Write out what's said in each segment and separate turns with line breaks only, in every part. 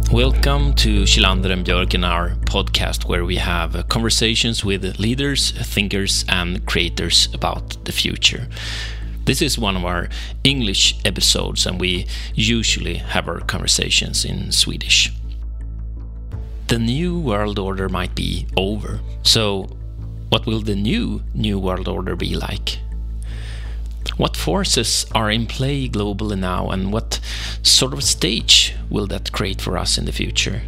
Welcome to Kjellander and Björken, our podcast where we have conversations with leaders, thinkers and creators about the future. This is one of our English episodes and we usually have our conversations in Swedish. The new world order might be over, so what will the new world order be like? What forces are in play globally now and what sort of stage will that create for us in the future?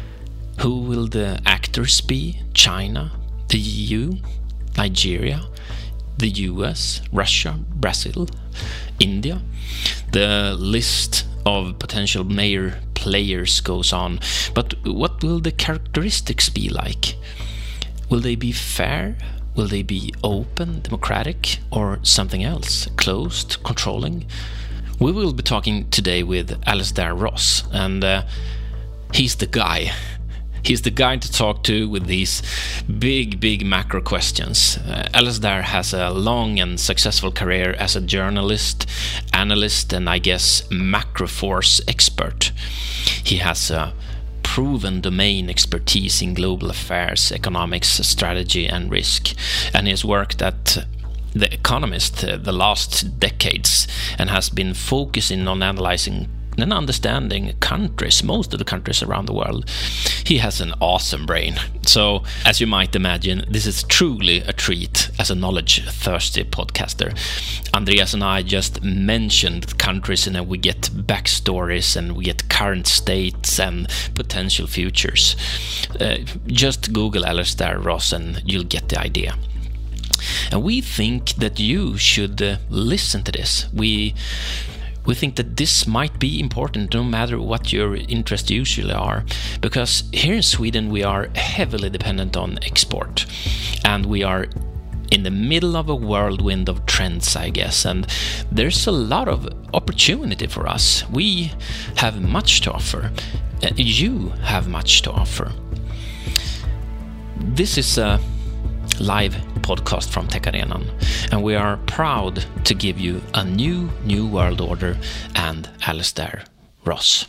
Who will the actors be? China, the EU, Nigeria, the US, Russia, Brazil, India? The list of potential major players goes on, but what will the characteristics be like? Will they be fair? Will they be open, democratic, or something else? Closed, controlling? We will be talking today with Alasdair Ross, and he's the guy. He's the guy to talk to with these big macro questions. Alasdair has a long and successful career as a journalist, analyst, and I guess macro force expert. He has a proven domain expertise in global affairs, economics, strategy and risk, and he has worked at The Economist the last decades and has been focusing on analyzing and understanding countries, most of the countries around the world. He has an awesome brain. So, as you might imagine, this is truly a treat as a knowledge-thirsty podcaster. Andreas and I just mentioned countries and then we get backstories and we get current states and potential futures. Just Google Alasdair Ross and you'll get the idea. And we think that you should listen to this. We think that this might be important no matter what your interests usually are, because here in Sweden we are heavily dependent on export and we are in the middle of a whirlwind of trends, I guess, and there's a lot of opportunity for us. We have much to offer. You have much to offer. This is a live podcast from Tech Arenan, and we are proud to give you a new world order and Alasdair Ross.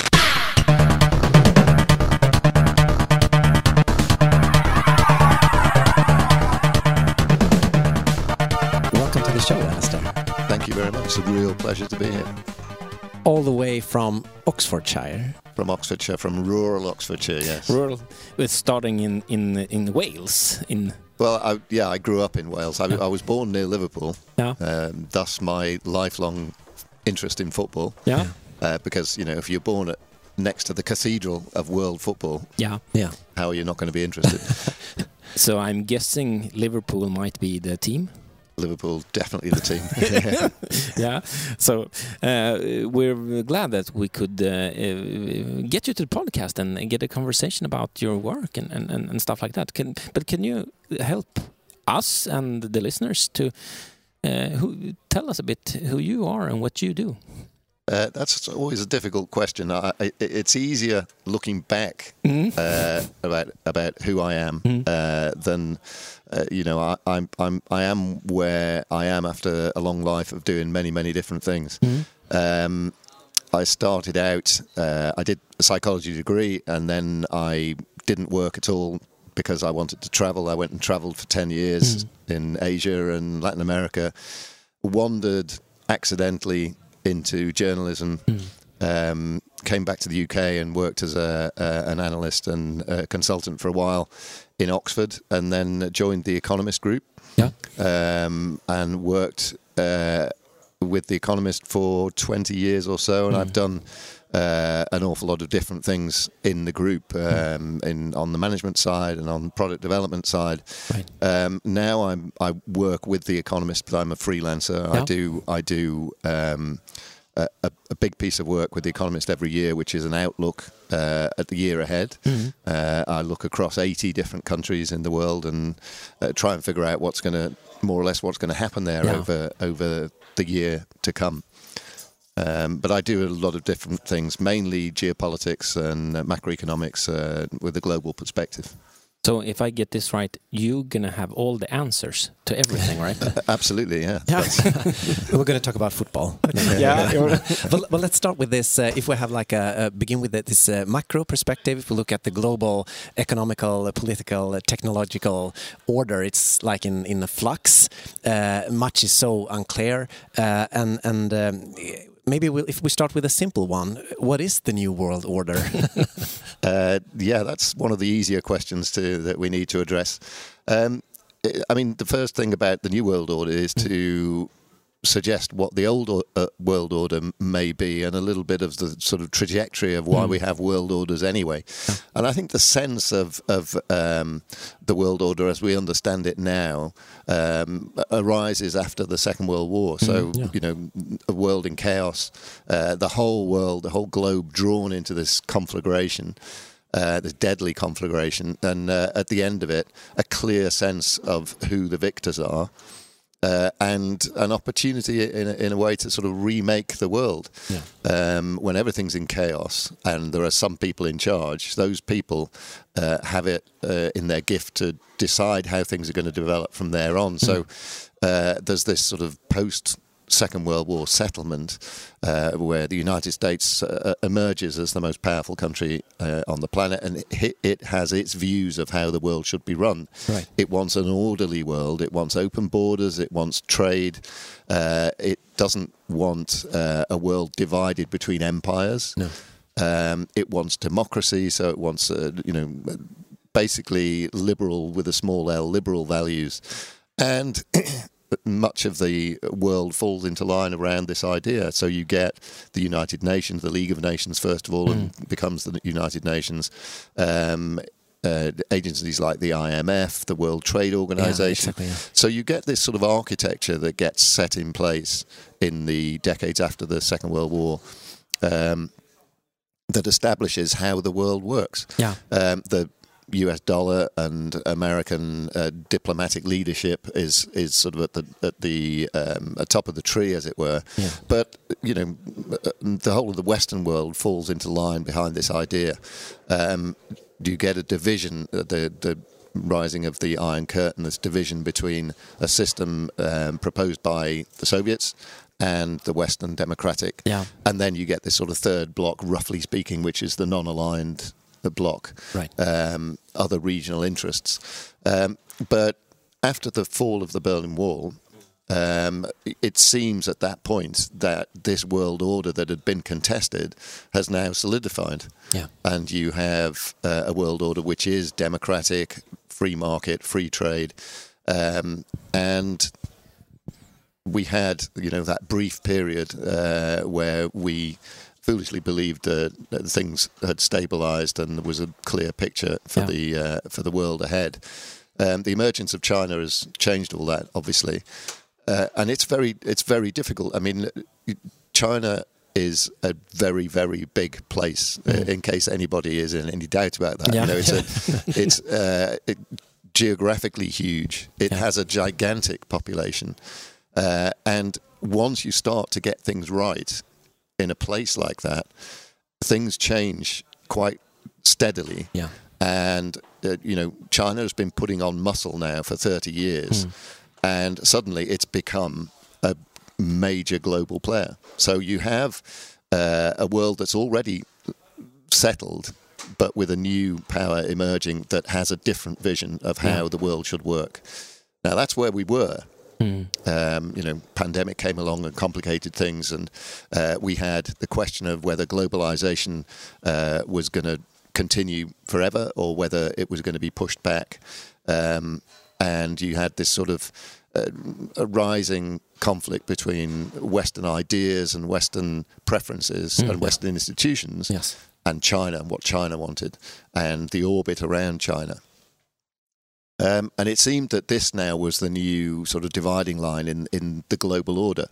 Welcome to the show, Alasdair.
Thank you very much. It's a real pleasure to be here.
All the way from Oxfordshire.
From Oxfordshire, from rural Oxfordshire, yes.
Rural, with starting in Wales.
Well, I grew up in Wales. I was born near Liverpool.
Yeah.
Thus my lifelong interest in football.
Yeah.
Because, you know, if you're born next to the cathedral of world football,
yeah,
how are you not going to be interested?
So I'm guessing Liverpool might be the team.
Liverpool, definitely the team.
Yeah. So we're glad that we could get you to the podcast and get a conversation about your work and stuff like that. Can you help us and the listeners to tell us a bit who you are and what you do?
That's always a difficult question. It's easier looking back about who I am than you know. I am where I am after a long life of doing many different things. I started out. I did a psychology degree, and then I didn't work at all because I wanted to travel. I went and travelled for 10 years in Asia and Latin America. Wandered accidentally into journalism, came back to the UK and worked as an analyst and a consultant for a while in Oxford, and then joined the Economist group, and worked with the Economist for 20 years or so, and I've done an awful lot of different things in the group, on the management side and on product development side. Right. Now I work with the Economist, but I'm a freelancer. Yeah. I do a big piece of work with the Economist every year, which is an outlook at the year ahead. I look across 80 different countries in the world and try and figure out what's going to happen there over the year to come. But I do a lot of different things, mainly geopolitics and macroeconomics with a global perspective.
So if I get this right, you're going to have all the answers to everything, right?
Absolutely, yeah.
We're going to talk about football. Well, let's start with this. If we have like begin with this macro perspective, if we look at the global economical, political, technological order, it's like in a flux. Much is so unclear. Maybe if we start with a simple one, what is the New World Order?
That's one of the easier questions that we need to address. I mean, the first thing about the New World Order is to suggest what the old world order may be and a little bit of the sort of trajectory of why we have world orders anyway. And I think the sense of the world order as we understand it now arises after the Second World War. So, a world in chaos, the whole world, the whole globe drawn into this conflagration. This deadly conflagration, and at the end of it, a clear sense of who the victors are, and an opportunity in a way to sort of remake the world. When everything's in chaos and there are some people in charge, those people have it in their gift to decide how things are going to develop from there on. So there's this sort of post-Second World War settlement where the United States emerges as the most powerful country on the planet, and it has its views of how the world should be run.
Right.
It wants an orderly world. It wants open borders. It wants trade. It doesn't want a world divided between empires.
No.
It wants democracy, so it wants, basically liberal with a small L, liberal values. And much of the world falls into line around this idea. So you get the United Nations, the League of Nations, first of all, and becomes the United Nations. Agencies like the IMF, the World Trade Organization.
Yeah, exactly,
So you get this sort of architecture that gets set in place in the decades after the Second World War that establishes how the world works. The US dollar and American diplomatic leadership is sort of at the top of the tree, as it were. But the whole of the Western world falls into line behind this idea. You get a division, the rising of the Iron Curtain, this division between a system proposed by the Soviets and the Western democratic. And then you get this sort of third block, roughly speaking, which is the non-aligned block, other regional interests. But after the fall of the Berlin Wall, it seems at that point that this world order that had been contested has now solidified. And you have a world order which is democratic, free market, free trade. And we had, that brief period where we foolishly believed that things had stabilized and there was a clear picture for the world ahead. The emergence of China has changed all that, obviously, and it's very difficult. I mean, China is a very, very big place. In case anybody is in any doubt about that, it's geographically huge. It has a gigantic population, and once you start to get things right in a place like that, things change quite steadily. And China has been putting on muscle now for 30 years, and suddenly it's become a major global player. So you have a world that's already settled, but with a new power emerging that has a different vision of how the world should work. Now that's where we were. Pandemic came along and complicated things, and we had the question of whether globalization was going to continue forever or whether it was going to be pushed back. And you had this sort of a rising conflict between Western ideas and Western preferences and Western institutions and China and what China wanted and the orbit around China. And it seemed that this now was the new sort of dividing line in the global order.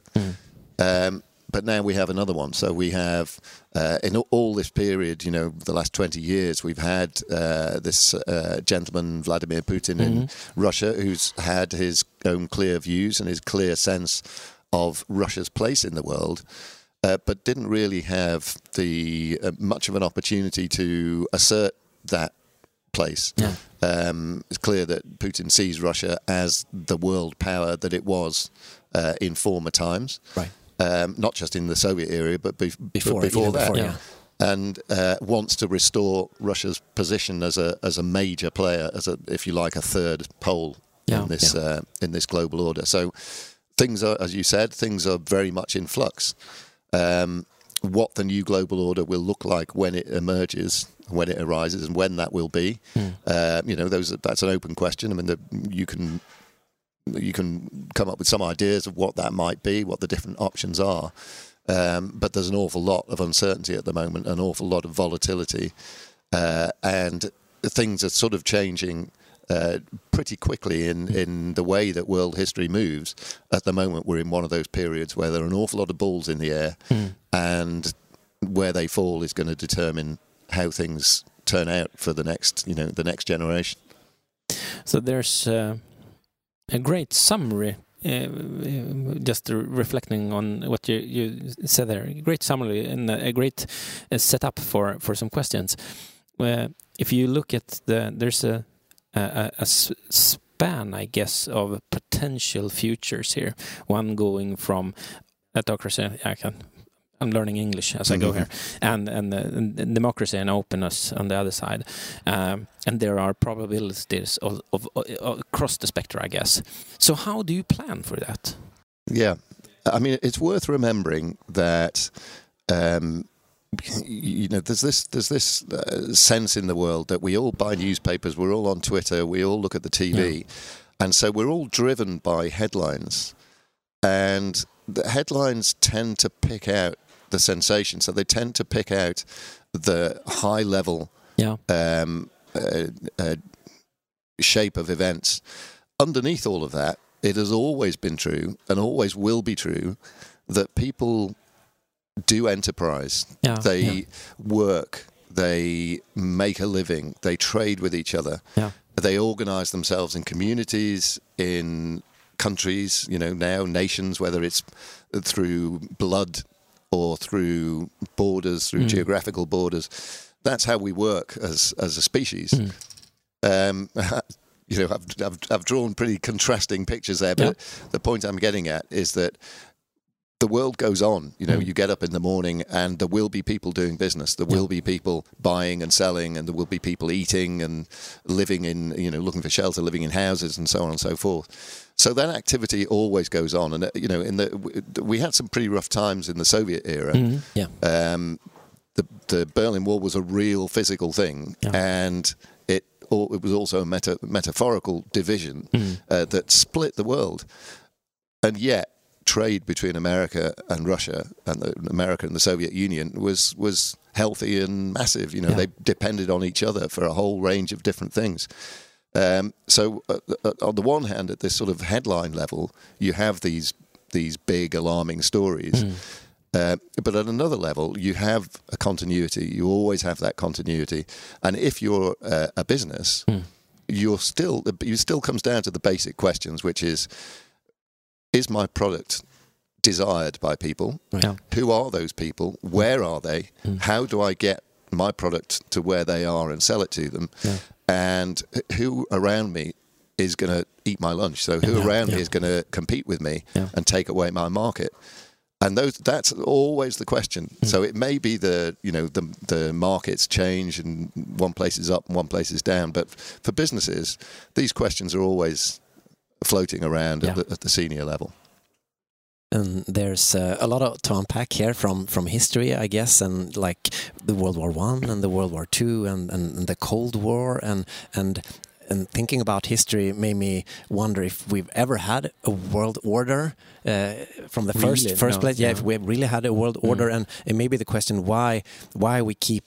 But now we have another one. So we have, in all this period, the last 20 years, we've had this gentleman, Vladimir Putin, in Russia, who's had his own clear views and his clear sense of Russia's place in the world, but didn't really have the much of an opportunity to assert that place.
Yeah.
It's clear that Putin sees Russia as the world power that it was in former times.
Right.
Not just in the Soviet era, but before that.
Yeah.
And wants to restore Russia's position as a major player, if you like, a third pole in this global order. So things are, as you said, very much in flux. What the new global order will look like when it emerges, when it arises, and when that will be, that's an open question. I mean, you can come up with some ideas of what that might be, what the different options are. But there's an awful lot of uncertainty at the moment, an awful lot of volatility, and things are sort of changing pretty quickly in the way that world history moves. At the moment, we're in one of those periods where there are an awful lot of balls in the air, and where they fall is going to determine how things turn out for the next generation.
So there's a great summary. Just reflecting on what you said there, a great summary and a great setup for some questions. If you look at there's a span, I guess, of potential futures here. One going from autocracy. I'm learning English as I go here, and democracy and openness on the other side, and there are probabilities of across the spectrum, I guess. So how do you plan for that? Yeah,
I mean, it's worth remembering that there's this sense in the world that we all buy newspapers, we're all on Twitter, we all look at the TV, and so we're all driven by headlines, and the headlines tend to pick out the sensation, so they tend to pick out the high level shape of events. Underneath all of that, it has always been true and always will be true that people do enterprise. They work, they make a living, they trade with each other, they organize themselves in communities, in countries, now nations, whether it's through blood or through borders, through geographical borders. That's how we work as a species. I've drawn pretty contrasting pictures there, but the point I'm getting at is that the world goes on. You get up in the morning and there will be people doing business. There will be people buying and selling, and there will be people eating and living in, looking for shelter, living in houses and so on and so forth. So that activity always goes on. And, we had some pretty rough times in the Soviet era. The Berlin Wall was a real physical thing, and it was also a metaphorical division that split the world. And yet, trade between America and Russia, and America and the Soviet Union was healthy and massive. They depended on each other for a whole range of different things. So on the one hand, at this sort of headline level, you have these big alarming stories. But at another level, you have a continuity. You always have that continuity. And if you're a business, you still comes down to the basic questions, which is my product desired by people? Who are those people? Where are they? How do I get my product to where they are and sell it to them? And who around me is going to eat my lunch? So who around me is going to compete with me and take away my market? And that's always the question. So it may be the markets change and one place is up and one place is down. But for businesses, these questions are always floating around at the senior level.
And there's a lot to unpack here from history, I guess, and like the World War I and the World War II and the Cold War and thinking about history made me wonder if we've ever had a world order from the first place. If we really had a world order, and maybe the question why we keep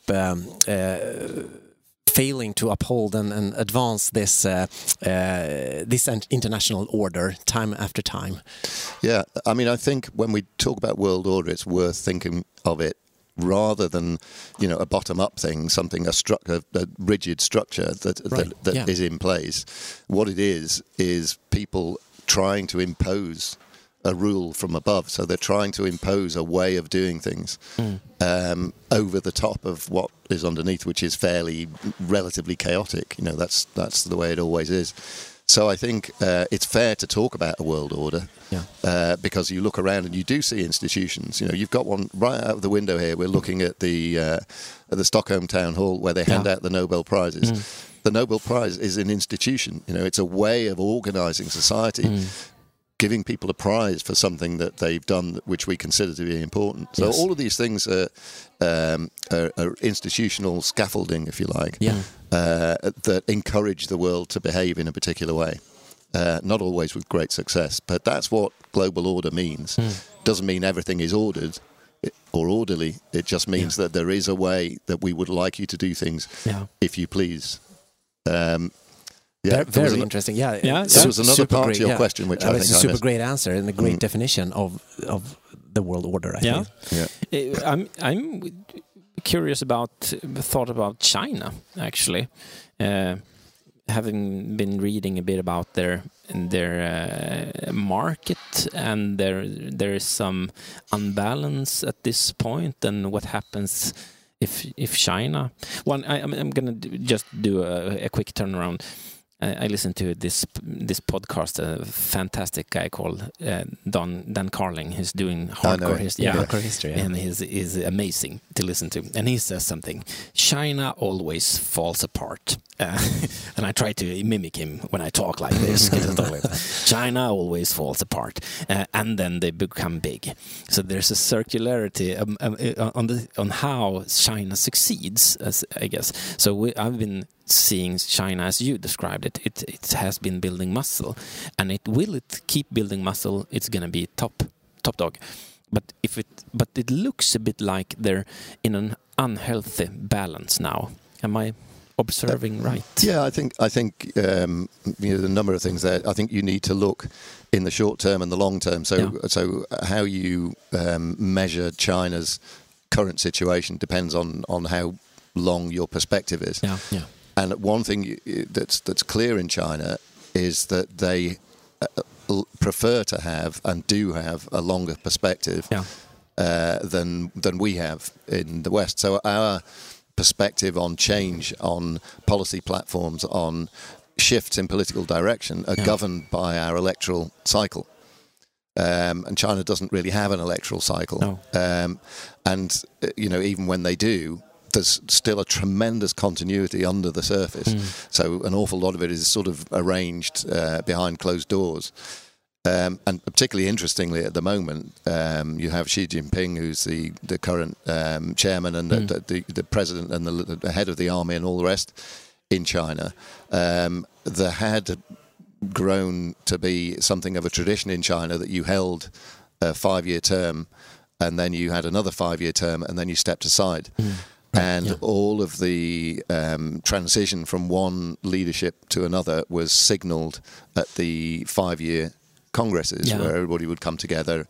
failing to uphold and advance this international order time after time.
Yeah, I mean, I think when we talk about world order, it's worth thinking of it rather than a bottom-up thing, a rigid structure that is in place. What it is people trying to impose a rule from above. So they're trying to impose a way of doing things over the top of what is underneath, which is relatively chaotic. You know, that's the way it always is. So I think it's fair to talk about a world order because you look around and you do see institutions. You know, you've got one right out of the window here. We're looking at the Stockholm Town Hall where they hand out the Nobel Prizes. The Nobel Prize is an institution. You know, it's a way of organising society, giving people a prize for something that they've done which we consider to be important. So all of these things are institutional scaffolding, if you like, that encourage the world to behave in a particular way. Not always with great success, but that's what global order means. Doesn't mean everything is ordered or orderly. It just means that there is a way that we would like you to do things, if you please.
Very interesting.
There was another part to your question, which I think
it's a super great answer and a great definition of the world order. I think.
I'm curious thought about China actually, having been reading a bit about their market, and there is some unbalance at this point, and what happens if China. I'm going to just do a quick turnaround. I listened to this podcast, a fantastic guy called Dan Carling. He's doing hardcore history, and he's amazing to listen to. And he says something: China always falls apart. And I try to mimic him when I talk like this. China always falls apart, and then they become big. So there's a circularity on how China succeeds, I guess. So I've been seeing China as you described it. It has been building muscle, and it keep building muscle. It's going to be top dog. But it looks a bit like they're in an unhealthy balance now. Am I observing right?
Yeah, I think the number of things there. I think you need to look in the short term and the long term. So how you measure China's current situation depends on how long your perspective is. And one thing that's clear in China is that they prefer to have and do have a longer perspective than we have in the West. So our perspective on change, on policy platforms, on shifts in political direction are governed by our electoral cycle. And China doesn't really have an electoral cycle.
No.
And, even when they do, there's still a tremendous continuity under the surface. So an awful lot of it is sort of arranged behind closed doors. And particularly interestingly, at the moment, you have Xi Jinping, who's the current chairman and the president and the head of the army and all the rest in China. There had grown to be something of a tradition in China that you held a 5-year term, and then you had another 5-year term, and then you stepped aside. And all of the transition from one leadership to another was signalled at the 5-year congresses where everybody would come together.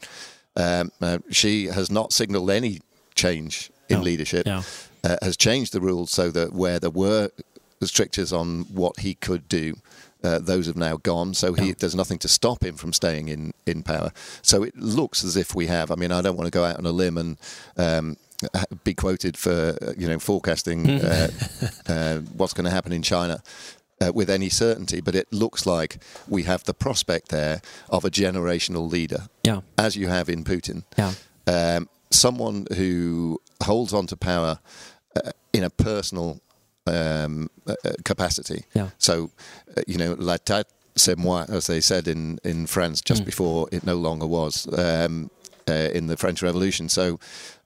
She has not signalled any change in leadership, has changed the rules so that where there were strictures on what he could do, those have now gone. So there's nothing to stop him from staying in power. So it looks as if we have. I mean, I don't want to go out on a limb and be quoted for forecasting what's going to happen in China with any certainty, but it looks like we have the prospect there of a generational leader, as you have in Putin. Someone who holds on to power in a personal capacity. So, la tête c'est moi, as they said in France just before it no longer was in the French Revolution. So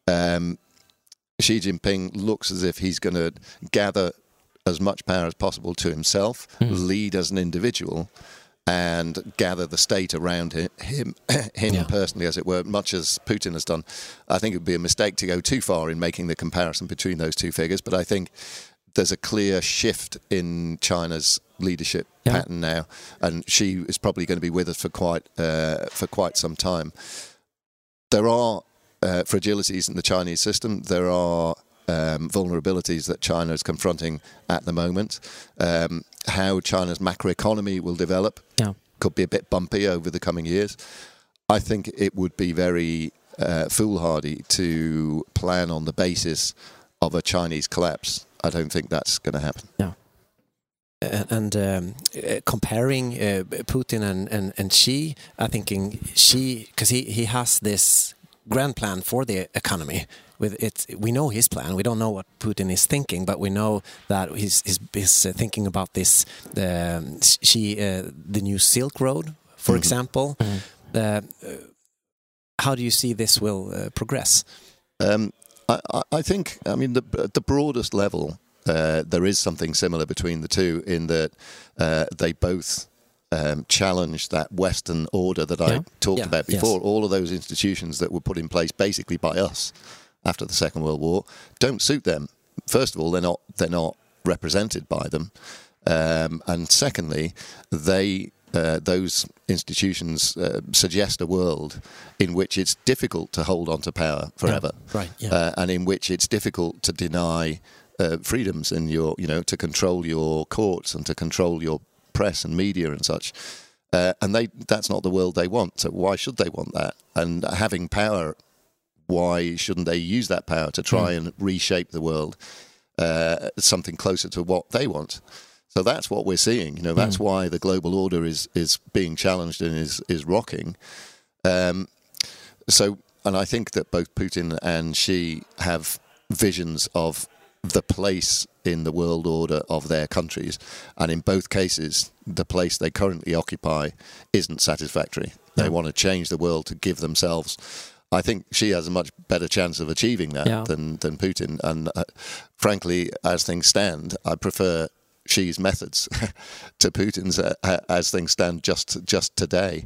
Xi Jinping looks as if he's going to gather as much power as possible to himself, lead as an individual, and gather the state around him personally, as it were, much as Putin has done. I think it would be a mistake to go too far in making the comparison between those two figures, but I think there's a clear shift in China's leadership pattern now, and Xi is probably going to be with us for quite some time. There are fragilities in the Chinese system. There are vulnerabilities that China is confronting at the moment. How China's macroeconomy will develop could be a bit bumpy over the coming years. I think it would be very foolhardy to plan on the basis of a Chinese collapse. I don't think that's going to happen.
Yeah. And comparing Putin and Xi, I think Xi, because he has this grand plan for the economy. With it, we know his plan. We don't know what Putin is thinking, but we know that he's thinking about this. The new Silk Road, for example. How do you see this will progress?
I think, I mean, at the broadest level, there is something similar between the two in that they both challenge that Western order that I talked about before. Yes. All of those institutions that were put in place basically by us after the Second World War don't suit them. First of all, they're not represented by them, and secondly, those institutions suggest a world in which it's difficult to hold on to power forever, and in which it's difficult to deny freedoms in your, to control your courts and to control your press and media and such. And that's not the world they want. So why should they want that? And having power, why shouldn't they use that power to try and reshape the world something closer to what they want? So that's what we're seeing. That's why the global order is being challenged and is rocking. And I think that both Putin and Xi have visions of the place in the world order of their countries, and in both cases, the place they currently occupy isn't satisfactory. They want to change the world to give themselves. I think Xi has a much better chance of achieving that than Putin. And frankly, as things stand, I prefer Xi's methods to Putin's as things stand just today.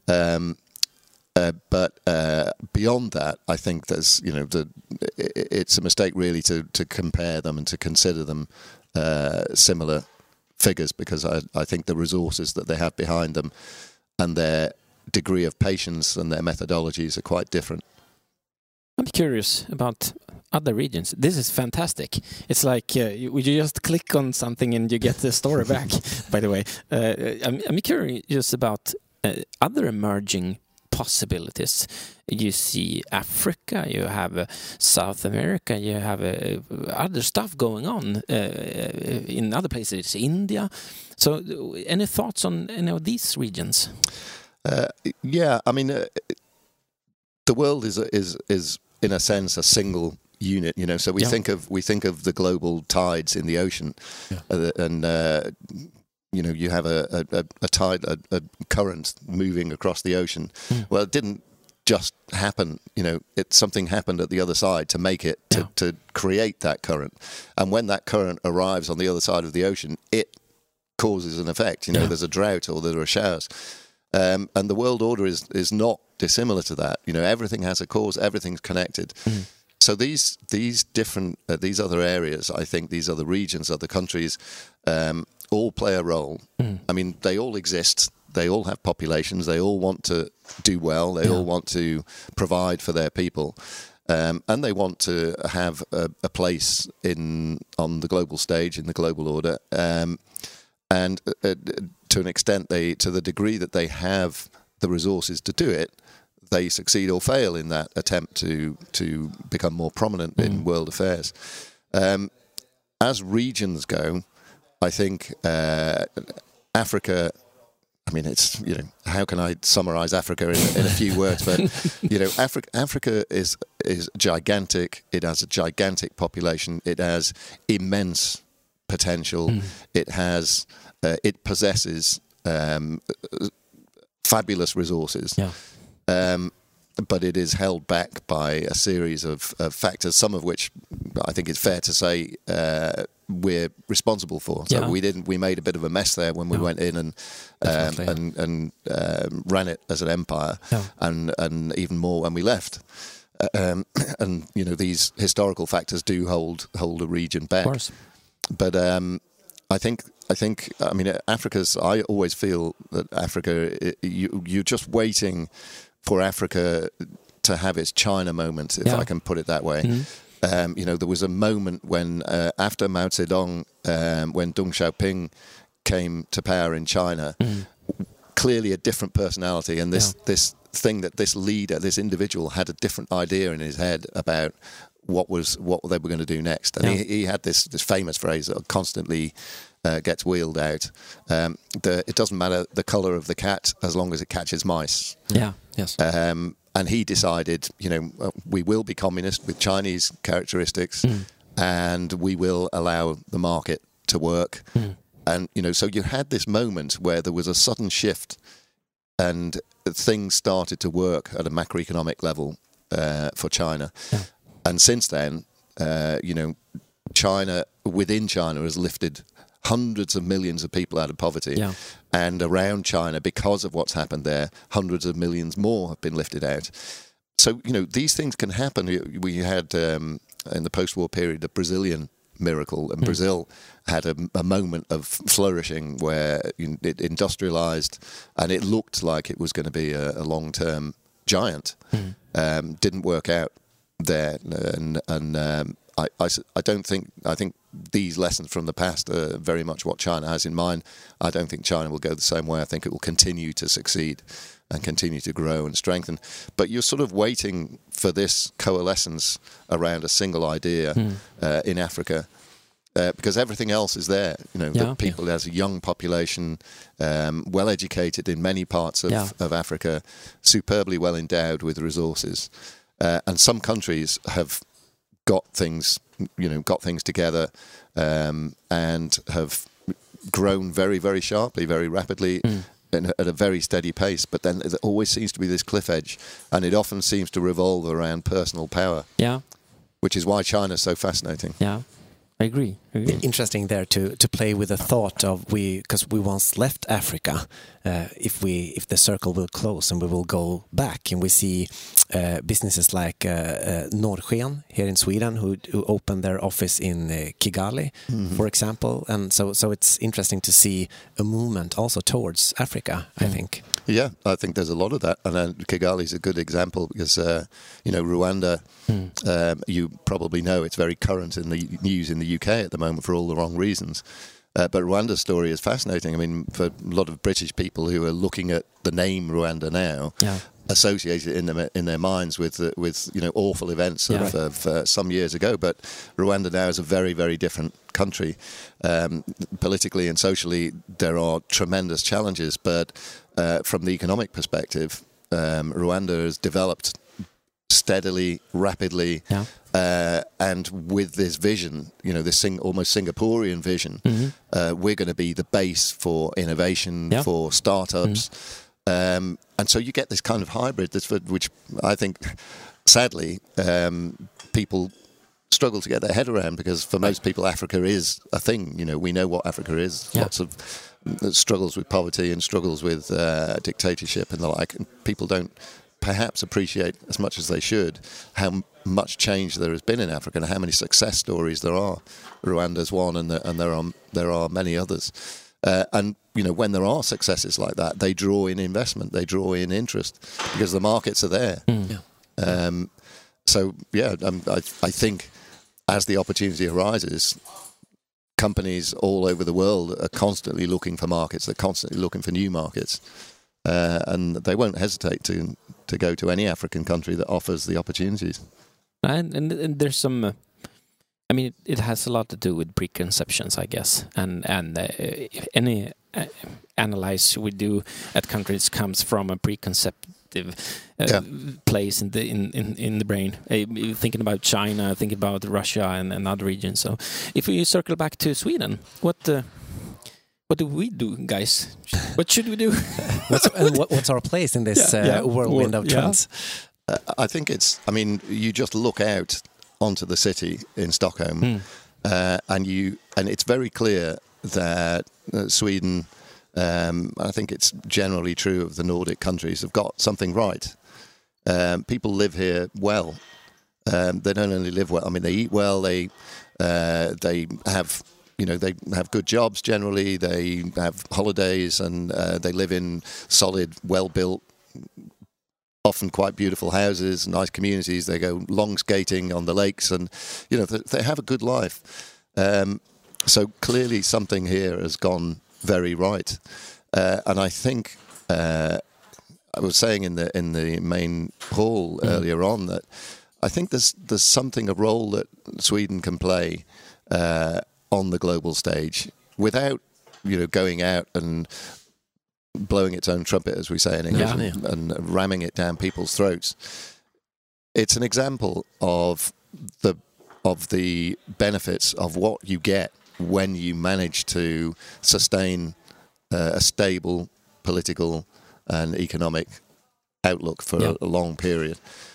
But beyond that, I think there's, it's a mistake really to compare them and to consider them similar figures, because I think the resources that they have behind them and their degree of patience and their methodologies are quite different.
I'm curious about other regions. This is fantastic. It's like you just click on something and you get the story back. By the way, I'm curious about other emerging possibilities. You see Africa, you have South America, you have other stuff going on in other places, India. So any thoughts on any of these regions?
I mean, the world is in a sense a single unit, so we think of the global tides in the ocean, and you have a tide, a current moving across the ocean. Well, it didn't just happen, something happened at the other side to make it, to create that current. And when that current arrives on the other side of the ocean, it causes an effect. There's a drought or there are showers. And the world order is not dissimilar to that. Everything has a cause, everything's connected. So these different, these other areas, I think these other regions, other countries, all play a role. I mean, they all exist. They all have populations. They all want to do well. They all want to provide for their people. And they want to have a place on the global stage, in the global order. And to an extent, to the degree that they have the resources to do it, they succeed or fail in that attempt to become more prominent in world affairs. As regions go, I think Africa, I mean, it's, how can I summarize Africa in a few words? But, Africa is gigantic. It has a gigantic population. It has immense potential. It possesses fabulous resources. But it is held back by a series of factors, some of which I think it's fair to say we're responsible for. So we made a bit of a mess there when we went in and ran it as an empire, and even more when we left. And these historical factors do hold a region back. Of course. But I think I mean, I always feel that Africa, you're just waiting for Africa to have its China moment, if I can put it that way. There was a moment when, after Mao Zedong, when Deng Xiaoping came to power in China, clearly a different personality, and this thing that this leader, this individual, had a different idea in his head about what they were going to do next. And he had this famous phrase that constantly gets wheeled out. It doesn't matter the colour of the cat as long as it catches mice.
Yeah. Yes.
And he decided, we will be communist with Chinese characteristics, and we will allow the market to work. And so you had this moment where there was a sudden shift, and things started to work at a macroeconomic level for China.
Yeah.
And since then, China, within China, has lifted hundreds of millions of people out of poverty.
Yeah.
And around China, because of what's happened there, hundreds of millions more have been lifted out. So, these things can happen. We had, in the post-war period, the Brazilian miracle, and Brazil had a moment of flourishing where it industrialized, and it looked like it was going to be a long-term giant. Didn't work out there, and I think these lessons from the past are very much what China has in mind. I don't think China will go the same way. I think it will continue to succeed and continue to grow and strengthen. But you're sort of waiting for this coalescence around a single idea in Africa, because everything else is there. The people, there's a young population, well educated in many parts of Africa, superbly well endowed with resources, and some countries have got things together, and have grown very, very sharply, very rapidly, at a very steady pace. But then there always seems to be this cliff edge, and it often seems to revolve around personal power.
Yeah.
Which is why China's so fascinating.
Yeah. I agree.
Interesting there to play with the thought of because we once left Africa. If the circle will close and we will go back, and we see businesses like Norrsken here in Sweden who opened their office in Kigali, for example, and so it's interesting to see a movement also towards Africa. I think.
Yeah, I think there's a lot of that, and Kigali is a good example because Rwanda. You probably know it's very current in the news in the UK at the moment for all the wrong reasons. But Rwanda's story is fascinating. I mean, for a lot of British people who are looking at the name Rwanda now, associate it in their minds with awful events of some years ago. But Rwanda now is a very, very different country. Politically and socially, there are tremendous challenges. But from the economic perspective, Rwanda has developed steadily, rapidly, and with this vision, this almost Singaporean vision, we're going to be the base for innovation, for startups, and so you get this kind of hybrid, which I think, sadly, people struggle to get their head around, because for most people, Africa is a thing. We know what Africa is. Lots of struggles with poverty and struggles with dictatorship and the like, and people don't perhaps appreciate as much as they should how much change there has been in Africa and how many success stories there are. Rwanda's one, and there are many others. And when there are successes like that, they draw in investment, they draw in interest, because the markets are there. I think as the opportunity arises, companies all over the world are constantly looking for markets. They're constantly looking for new markets. And they won't hesitate to go to any African country that offers the opportunities.
And there's some, it has a lot to do with preconceptions, I guess, and any analysis we do at countries comes from a preconceptive place in the brain. Thinking about China, thinking about Russia and other regions. So, if we circle back to Sweden, what do we do, guys? What should we do?
What's our place in this whirlwind of trends?
I think you just look out onto the city in Stockholm, and it's very clear that Sweden, I think it's generally true of the Nordic countries, have got something right. People live here well. They don't only live well. They eat well. They have. They have good jobs generally, they have holidays, and they live in solid, well-built, often quite beautiful houses, nice communities. They go long skating on the lakes, and, they have a good life. So clearly something here has gone very right. And I think I was saying in the main hall earlier on that I think there's something, a role that Sweden can play on the global stage without going out and blowing its own trumpet, as we say in English, and ramming it down people's throats. It's an example of the benefits of what you get when you manage to sustain a stable political and economic outlook for a long period.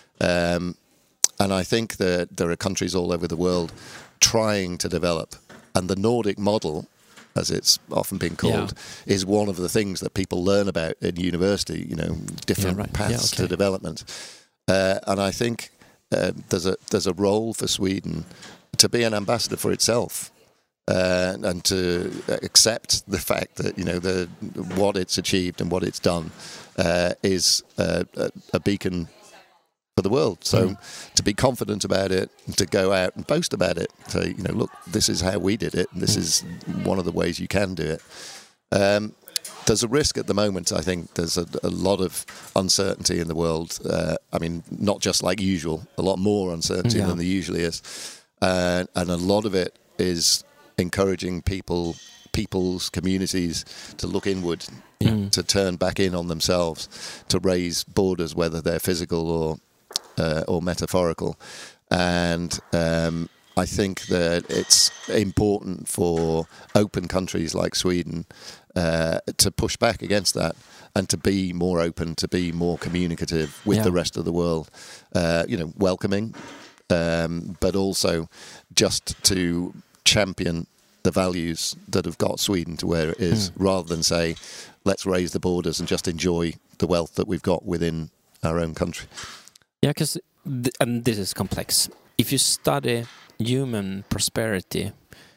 And I think that there are countries all over the world trying to develop, and the Nordic model, as it's often been called, is one of the things that people learn about in university, different paths to development. And I think there's a role for Sweden to be an ambassador for itself, and to accept the fact that what it's achieved and what it's done is a beacon for the world. So to be confident about it, to go out and boast about it, say, look, this is how we did it, and this is one of the ways you can do it. There's a risk at the moment. I think there's a lot of uncertainty in the world. Not just like usual, a lot more uncertainty than there usually is. And a lot of it is encouraging people's communities to look inward, to turn back in on themselves, to raise borders, whether they're physical or metaphorical. And I think that it's important for open countries like Sweden to push back against that and to be more open, to be more communicative with the rest of the world, welcoming, but also just to champion the values that have got Sweden to where it is, rather than say, let's raise the borders and just enjoy the wealth that we've got within our own country.
Yeah, because and this is complex. If you study human prosperity,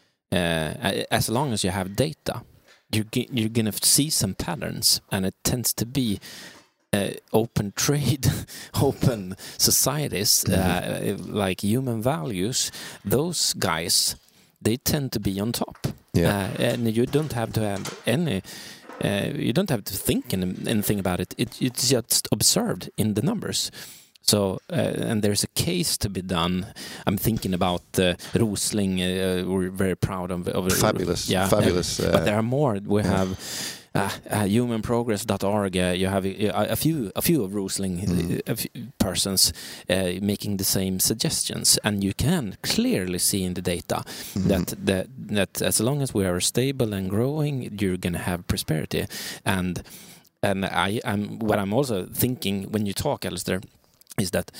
as long as you have data, you're going to see some patterns, and it tends to be open trade, open societies, like human values. Those guys, they tend to be on top, and you don't have to have any. You don't have to think anything about it. It's just observed in the numbers. So, and there's a case to be done. I'm thinking about Rosling. We're very proud of
fabulous, fabulous.
But there are more. We have humanprogress.org. You have a few of Rosling persons making the same suggestions, and you can clearly see in the data that as long as we are stable and growing, you're going to have prosperity. And what I'm also thinking when you talk, Alistair, is that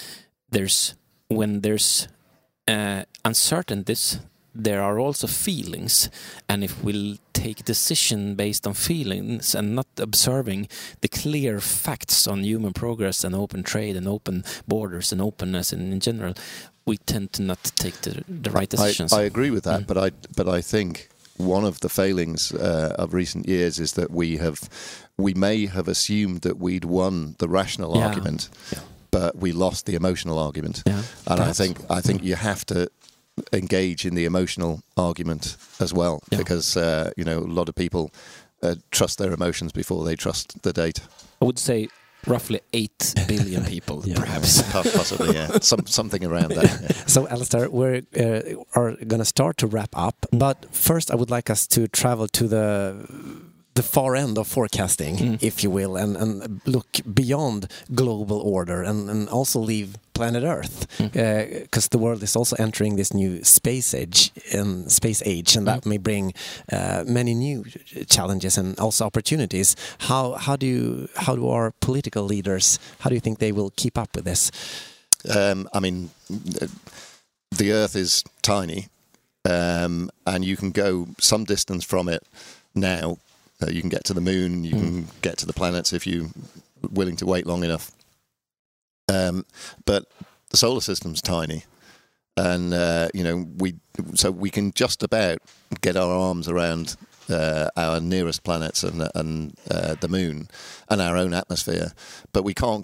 when there's uncertainties, there are also feelings, and if we'll take decision based on feelings and not observing the clear facts on human progress and open trade and open borders and openness in general, we tend to not take the right decisions.
I agree with that, but I think one of the failings of recent years is that we may have assumed that we'd won the rational argument. Yeah. But we lost the emotional argument, and I think you have to engage in the emotional argument as well, because a lot of people trust their emotions before they trust the data.
I would say roughly 8 billion people, perhaps.
Possibly, something around that.
So, Alistair, we are going to start to wrap up, but first I would like us to travel to the far end of forecasting, if you will, and look beyond global order and also leave planet Earth, because the world is also entering this new space age, and that may bring many new challenges and also opportunities. How do our political leaders, how do you think they will keep up with this?
The Earth is tiny, and you can go some distance from it now. You can get to the moon, you can get to the planets if you're willing to wait long enough. But the solar system's tiny, and we can just about get our arms around our nearest planets and the moon and our own atmosphere, but we can't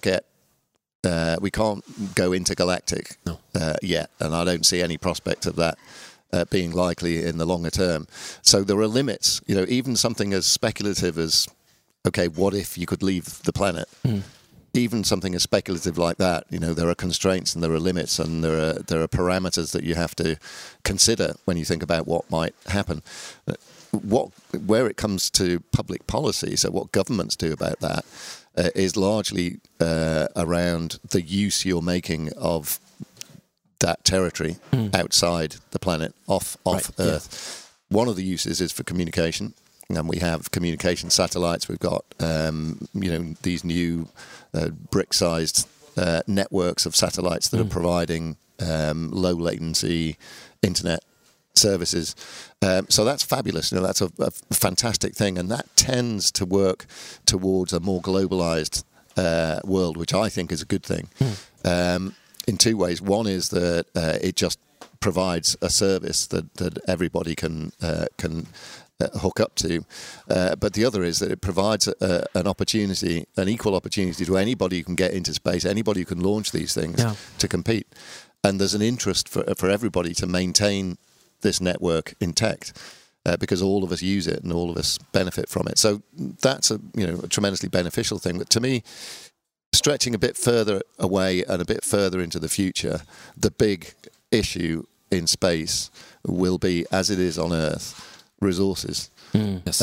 go intergalactic yet, and I don't see any prospect of that being likely in the longer term. So there are limits. Even something as speculative as, okay, what if you could leave the planet? even something as speculative like that, there are constraints and there are limits and there are parameters that you have to consider when you think about what might happen. Where it comes to public policy, so what governments do about that, is largely around the use you're making of that territory outside the planet, off Earth. Yeah. One of the uses is for communication. And we have communication satellites. We've got, these new brick-sized networks of satellites that are providing low latency internet services. So that's fabulous. That's a fantastic thing, and that tends to work towards a more globalized world, which I think is a good thing. In two ways. One is that it just provides a service that everybody can hook up to, but the other is that it provides an equal opportunity to anybody who can get into space, anybody who can launch these things to compete. And there's an interest for everybody to maintain this network intact, because all of us use it and all of us benefit from it. So that's a tremendously beneficial thing. But to me, stretching a bit further away and a bit further into the future, the big issue in space will be, as it is on Earth, resources.
Yes.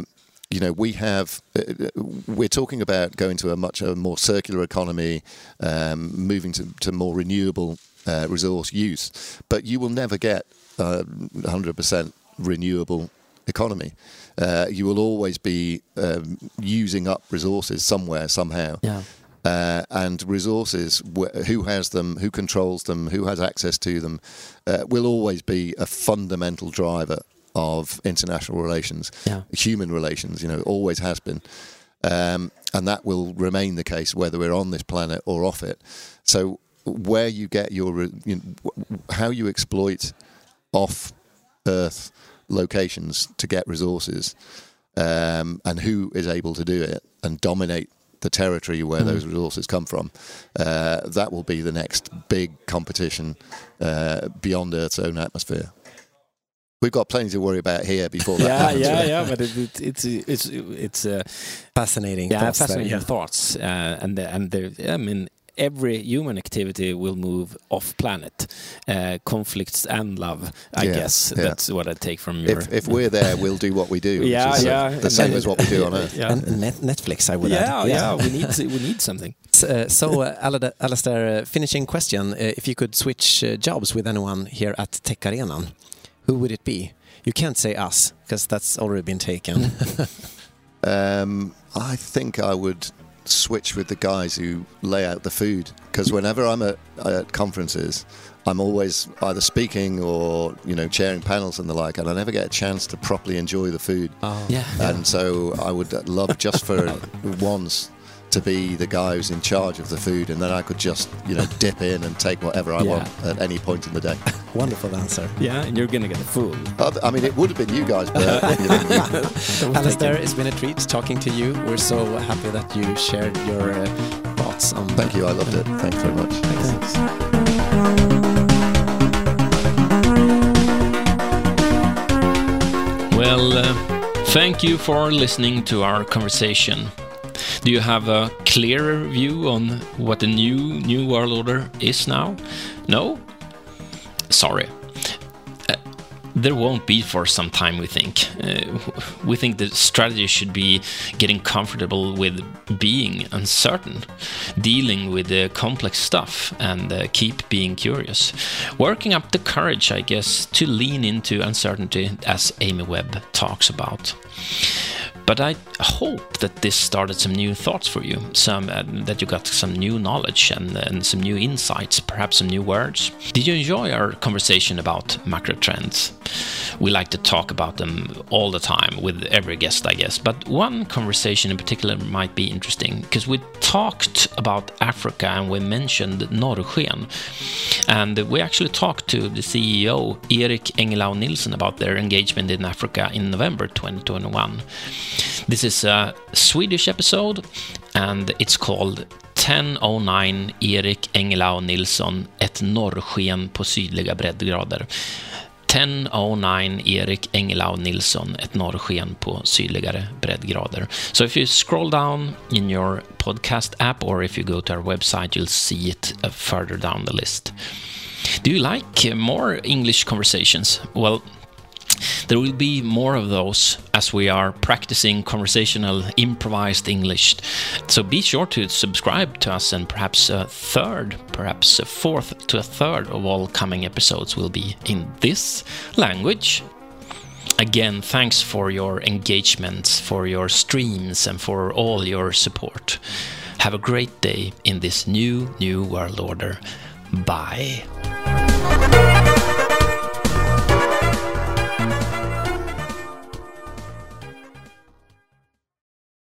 We're talking about going to a more circular economy, moving to more renewable resource use, but you will never get 100% renewable economy. You will always be using up resources somewhere, somehow.
Yeah.
And resources, who has them, who controls them, who has access to them, will always be a fundamental driver of international relations, human relations, always has been. And that will remain the case whether we're on this planet or off it. So where you get how you exploit off-Earth locations to get resources, and who is able to do it and dominate the territory where those resources come from, that will be the next big competition beyond Earth's own atmosphere. We've got plenty to worry about here before that happens.
But it's
fascinating.
Yeah,
thoughts
fascinating thoughts. Every human activity will move off planet. Conflicts and love, I guess. Yeah. That's what I take from your...
If we're there, we'll do what we do. The same as what we do on Earth.
Yeah. And Netflix, I would add.
Yeah, we need something.
So Alistair, finishing question. If you could switch jobs with anyone here at Tech Arenan, who would it be? You can't say us, because that's already been taken.
I think I would switch with the guys who lay out the food, because whenever I'm at conferences, I'm always either speaking or chairing panels and the like, and I never get a chance to properly enjoy the food. And so I would love just for once to be the guy who's in charge of the food, and then I could just dip in and take whatever I want at any point in the day.
Wonderful answer.
Yeah, and you're gonna get full.
I mean, it would have been you guys, but
Alistair, it's been a treat talking to you. We're so happy that you shared your thoughts on.
Thank you, I loved it. Thanks very much.
Thanks.
Well, thank you for listening to our conversation. Do you have a clearer view on what the new world order is now? No? Sorry. There won't be for some time, we think. We think the strategy should be getting comfortable with being uncertain, dealing with the complex stuff, and keep being curious. Working up the courage, I guess, to lean into uncertainty, as Amy Webb talks about. But I hope that this started some new thoughts for you, that you got some new knowledge and some new insights, perhaps some new words. Did you enjoy our conversation about macro trends? We like to talk about them all the time with every guest, I guess. But one conversation in particular might be interesting, because we talked about Africa and we mentioned Norrsken. And we actually talked to the CEO, Erik Engelau Nilsson, about their engagement in Africa in November 2021. This is a Swedish episode, and it's called 1009 Erik Engelau Nilsson, ett norrsken på sydliga breddgrader. 1009 Erik Engellau Nilsson, ett norrsken på sydligare breddgrader. So if you scroll down in your podcast app, or if you go to our website, you'll see it further down the list. Do you like more English conversations? Well, there will be more of those as we are practicing conversational improvised English. So be sure to subscribe to us, and perhaps a third, perhaps a fourth to a third of all coming episodes will be in this language. Again, thanks for your engagement, for your streams, and for all your support. Have a great day in this new world order. Bye.